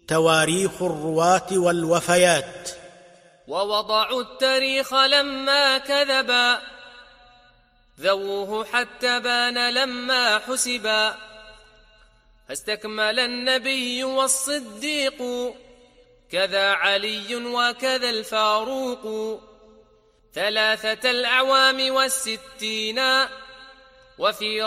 تواريخ الرواة والوفيات. ووضعوا التاريخ لما كذبا، ذووه حتى بان لما حسبا، فاستكمل النبي والصديق، كذا علي وكذا الفاروق، 3 الأعوام والستين، وفي